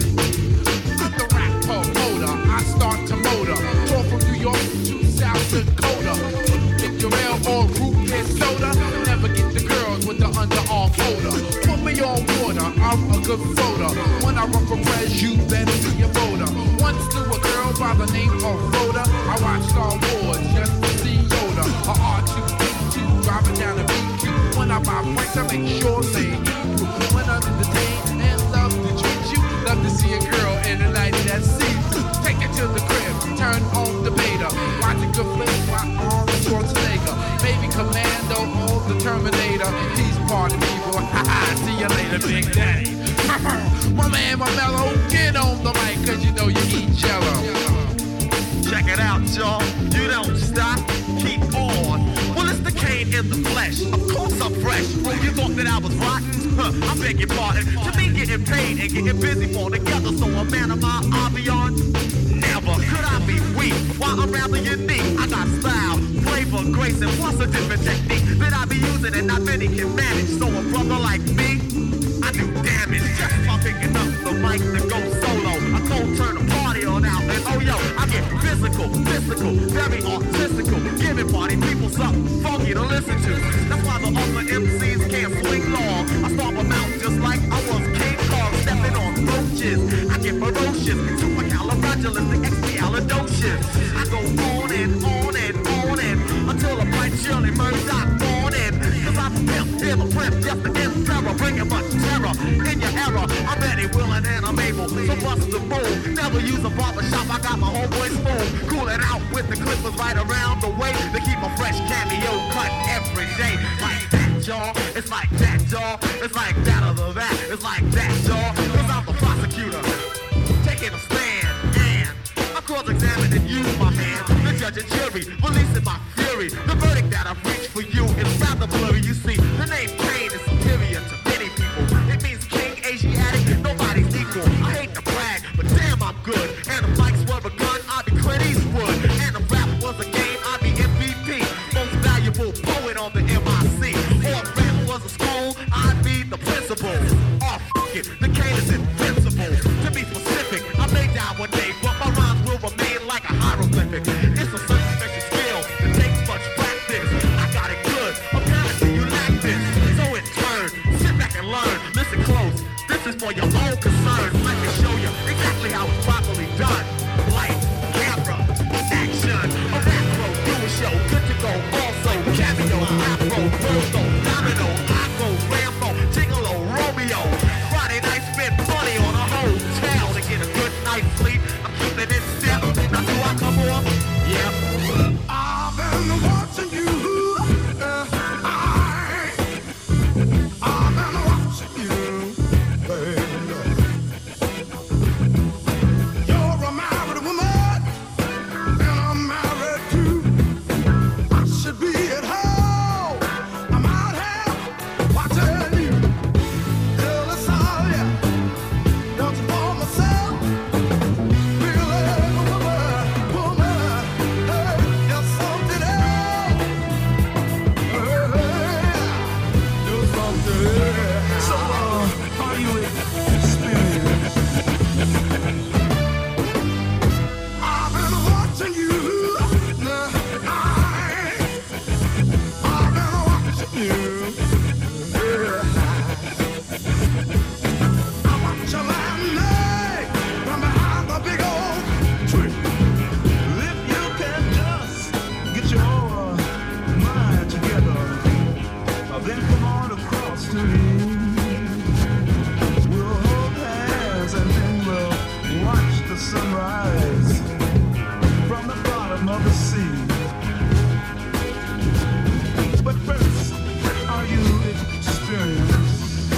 I'm the rap promoter, I start to motor. Tour from New York to South Dakota. Pick your ale or root beer soda. Never get the girls with the underarm folder. Put me on water, I'm a good floater. When I run for press, you better be a voter. Once to a girl by the name of Rhoda. I watched Star Wars just to see Yoda. A R2-D2 driving down the BQ. When I buy points, I make sure they equal. When I'm entertained and love to treat you, love to see a girl in a night that sees you. Take it to the crib, turn on the beta. Watch a good flick while on the Schwarzenegger. Baby Commando or the Terminator. Peace party people, haha, see you later, Big Daddy. My man, my mellow, get on the mic, cause you know you eat jello. Check it out, y'all. You don't stop, keep on. Well, it's the Kane in the flesh. Of course I'm fresh. Well, you thought that I was rotten? I beg your pardon. To me, getting paid and getting busy for together. So a man of my ambiance, never could I be weak. While I'm rather unique, I got style, flavor, grace, and plus a different technique that I be using and not many can manage. So a brother like me, I do damage just by picking up the mic to go solo. I go turn the party on out and oh yo, I get physical, very artistical, giving party people something funky to listen to. That's why the other MCs can't swing long. I stomp them out just like I was King Kong, stepping on roaches. I get ferocious, supercalifragilisticexpialidocious. I go on and on and on and until I fight Shirley Murdoch born in. Cause I'm a pimp, a pimp, just an emperor, bringing much terror in your era. I'm ready, willing, and I'm able to bust the move. Never use a barbershop, I got my homeboy smooth. Cooling out with the clippers right around the way to keep a fresh cameo cut every day. Like that, y'all. It's like that, y'all. It's like that or that. It's like that, y'all. Cause I'm the prosecutor, taking a stand, and I'm cross-examining you, my man. The judge and jury, releasing my fury. The verdict that I've reached for you is rather blurry. You see, the name Kane is superior to many people. It means King, Asiatic, nobody's equal. I hate to brag, but damn, I'm good. And if mics were a gun, I'd be Clint Eastwood. And if rap was a game, I'd be MVP. Most valuable poet on the MIC. Or if rap was a school, I'd be the principal. Oh, fuck it, the Kane is invincible. To be specific, I may die one day, but my rhymes will remain like a hieroglyphic. It's a certain special skill that takes much practice. Afro, Verso, Domino, Aquo, Rambo, Gigolo, Romeo. Friday night spent money on a hotel to get a good night's sleep. I'm keeping it step. Now do I come on? Yep. I've been watching you. I've been watching you, baby. You're a married woman, and I'm married too. I should be at home. I'm out here watching you. Till it's all, yeah. Want you for myself. Feel like a woman. Hey, you're something else. Hey, you're something else. So, are you experienced? I've been watching you. I've been watching you. I watch you lying there from behind the big old tree. If you can just get your mind together, then come on across to me. We'll hold hands and then we'll watch the sunrise from the bottom of the sea. But first, are you experienced?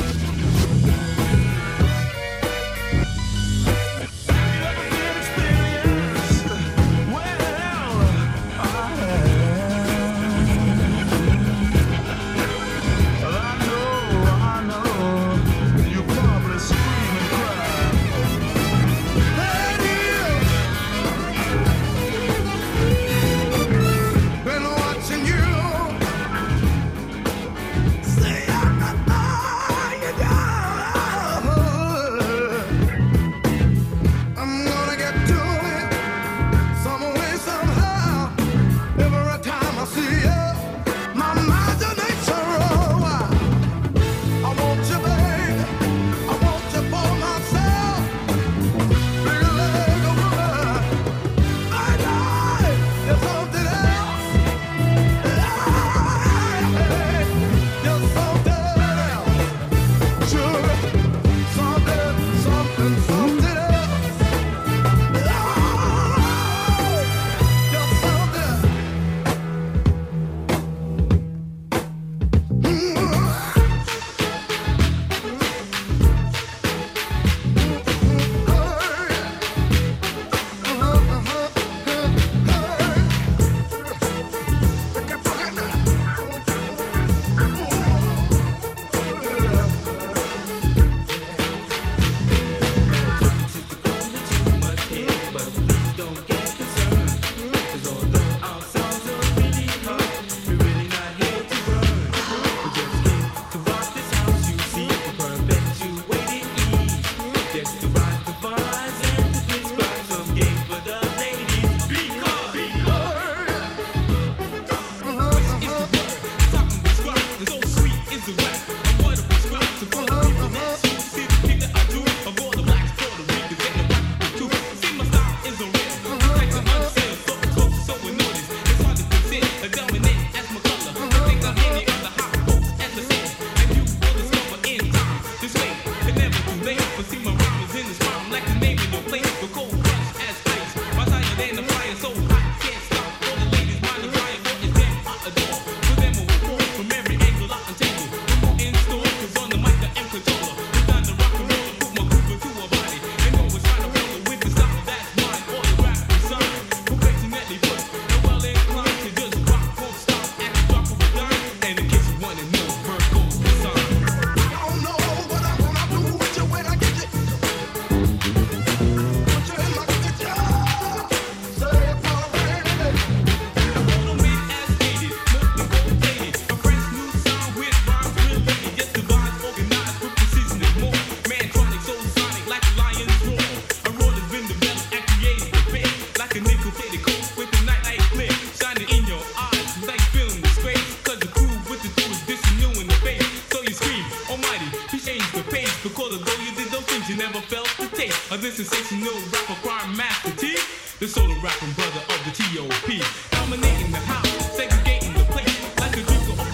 this sensational rapper, crime master T, the solo rapping brother of the T.O.P. Dominating the house, segregating the place, like a drinker of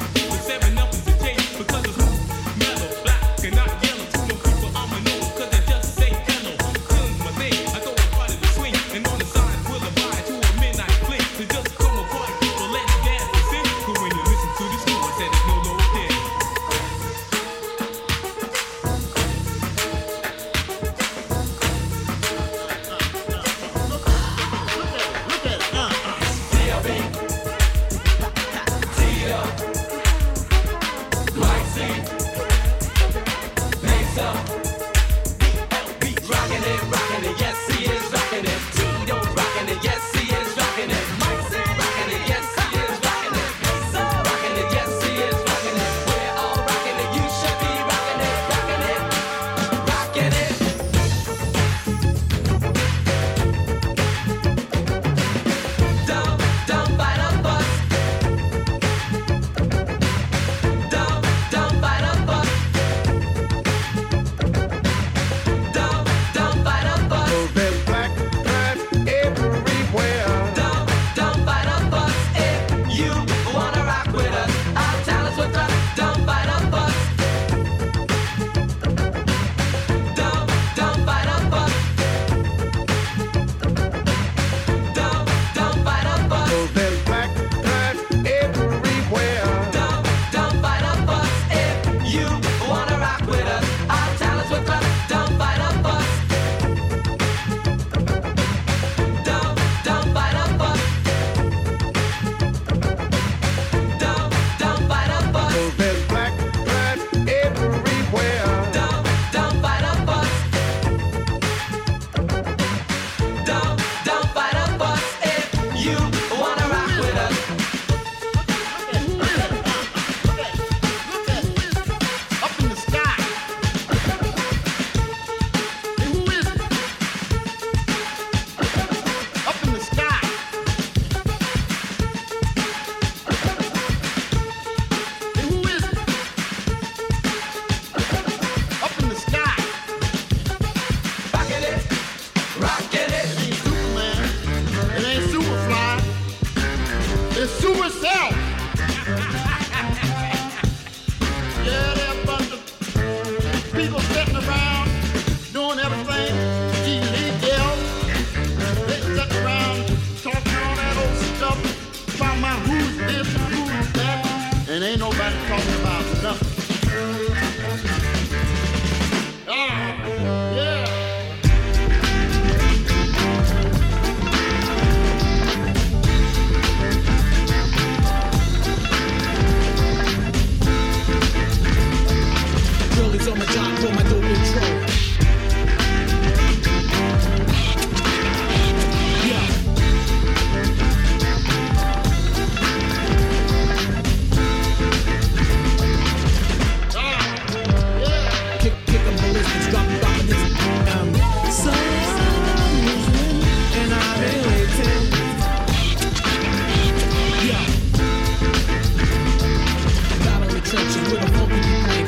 Productions with a funky beat.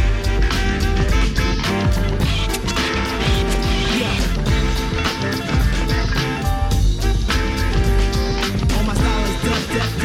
Yeah. All my style is death.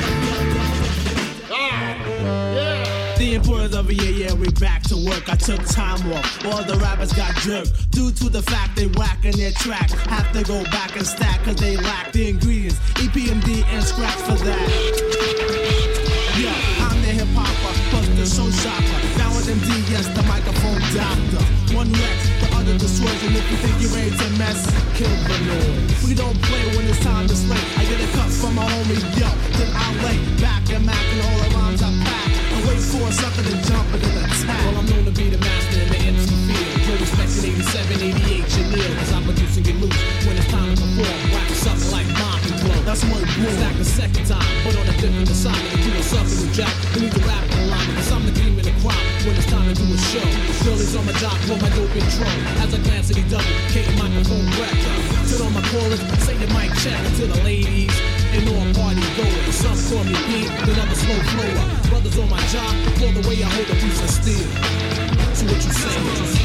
The importance of a yeah, we back to work. I took time off. All the rappers got jerked due to the fact they whack in their track. Have to go back and stack cause they lack the ingredients, EPMD and scratch for that. Yeah, I'm the hip hopper, plus the soul shopper. Now with MD, yes, the microphone doctor. One wrecks, the other destroys, and if you think you're ready to mess, kill the noise. We don't play when it's time to slay. I get a cut from my homie, yo, then I lay back and mack and all the rhymes I pack. And wait for a sucker to jump and then attack. Well, I'm known to be the master in the MC field. No respect in 87, 88, Chanel, cause I produce and get loose. When it's time to perform, whack something like mom and glow. That's my rule. Stack a second time, but on a different assignment. Do a something with Jack, we need to rap in alignment. Cause I'm the cream in the crop when it's time to do a show. Girlies on my job for my dope intro. As I glance at the double, K microphone record. Sit on my chorus, say your mic check to the ladies and all party goers. Some call me Pete, then I'm a slow flower. Brothers on my job, blow the way I hold a piece of steel. So what you say?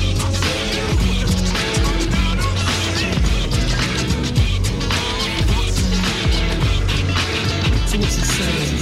So what you say?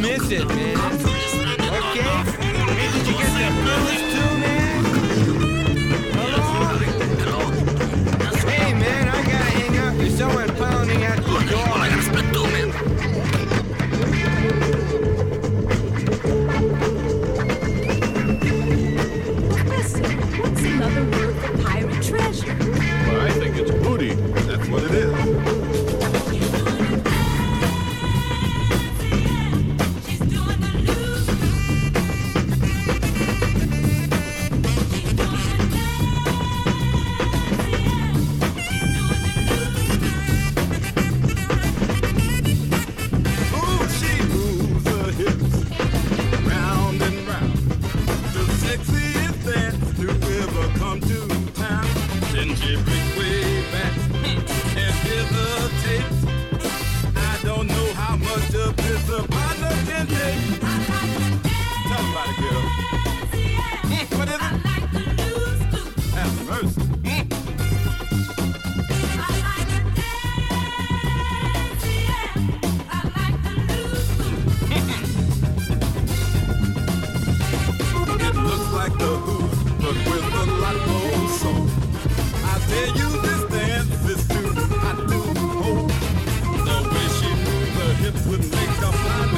miss it, man. Okay? Hey, did you get the blues too, man? Hello? Hey, man, I gotta hang up. There's someone pounding at the door. I gotta split two, man. Professor, what's another word for pirate treasure? Well, I think it's booty. That's what it is. Would make a fly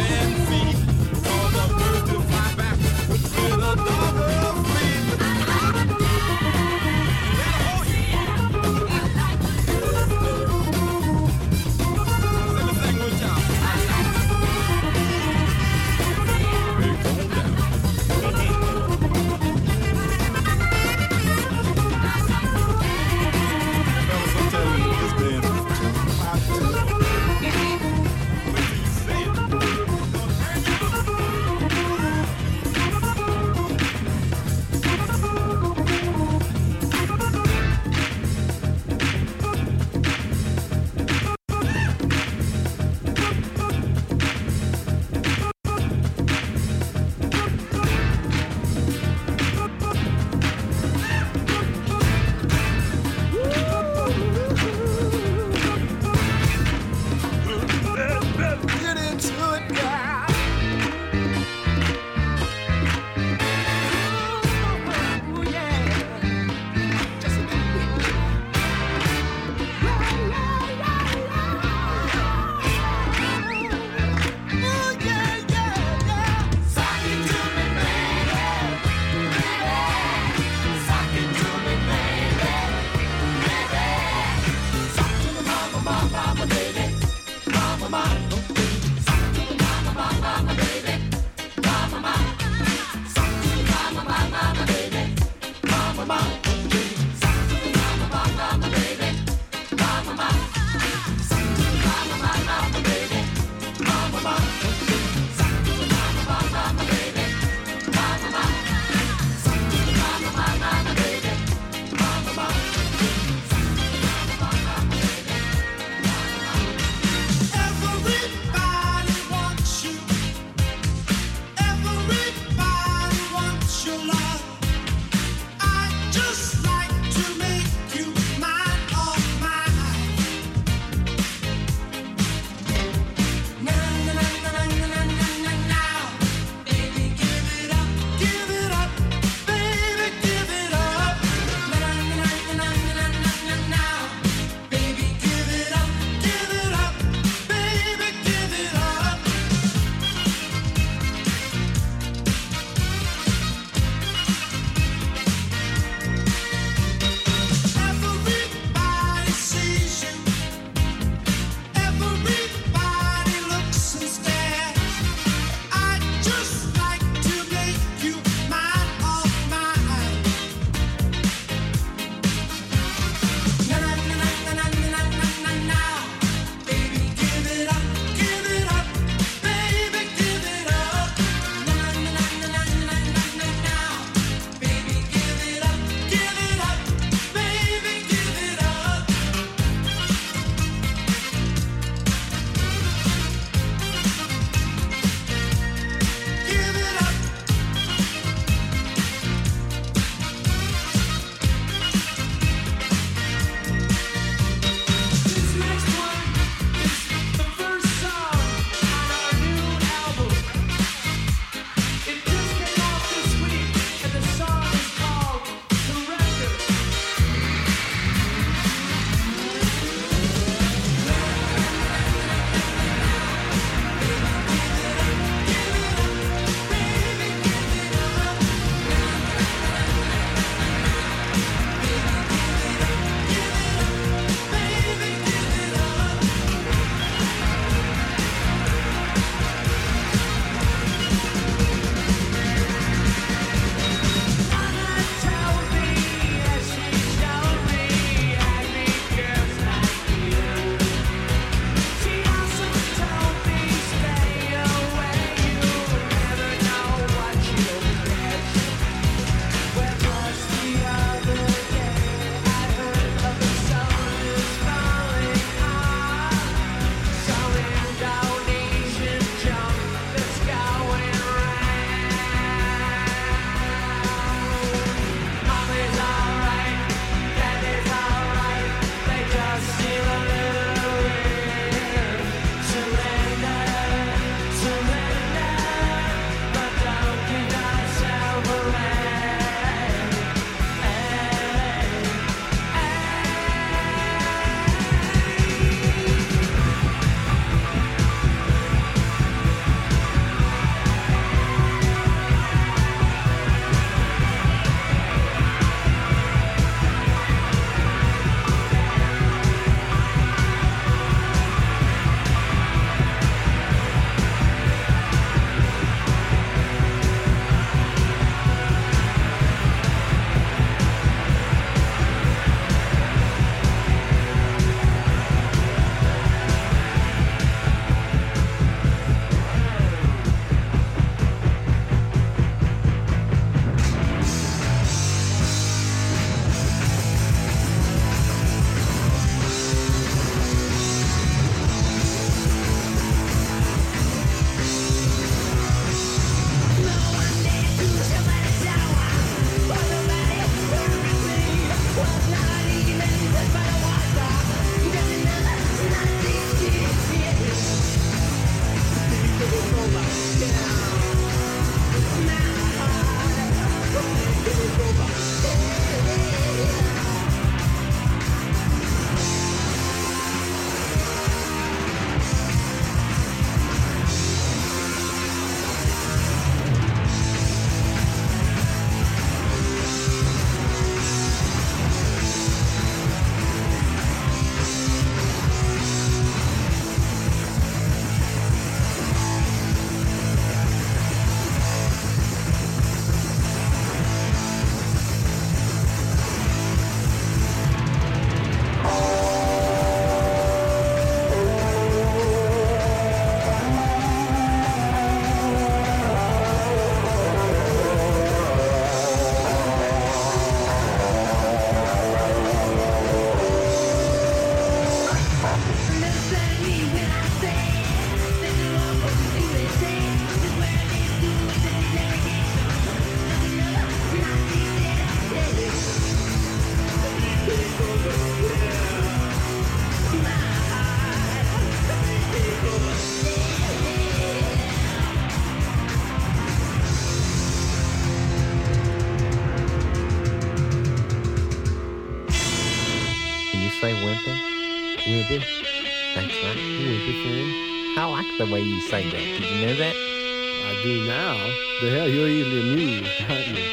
the way you say that. Did you know that? I do now. The hell, you're easily amused, aren't you?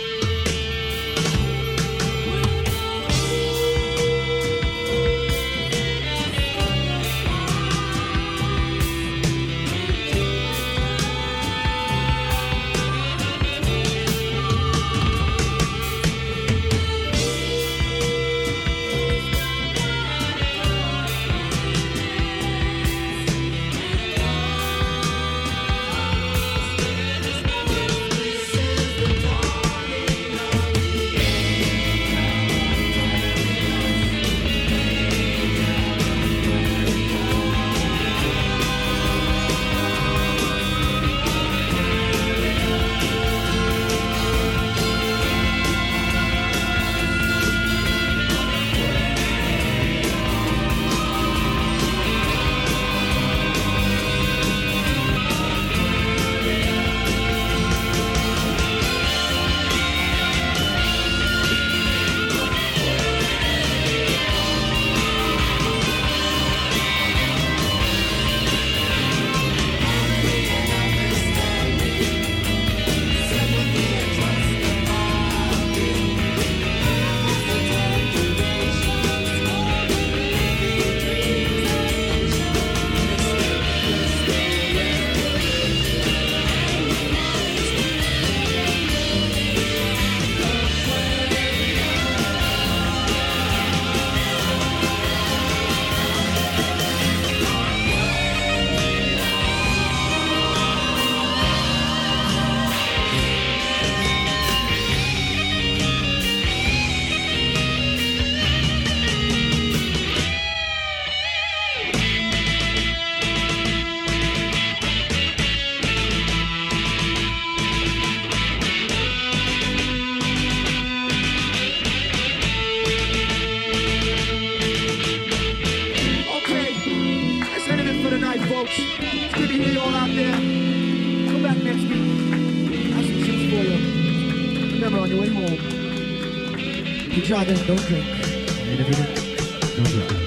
On your way home, if you're driving, don't drink. And if you do, don't drive.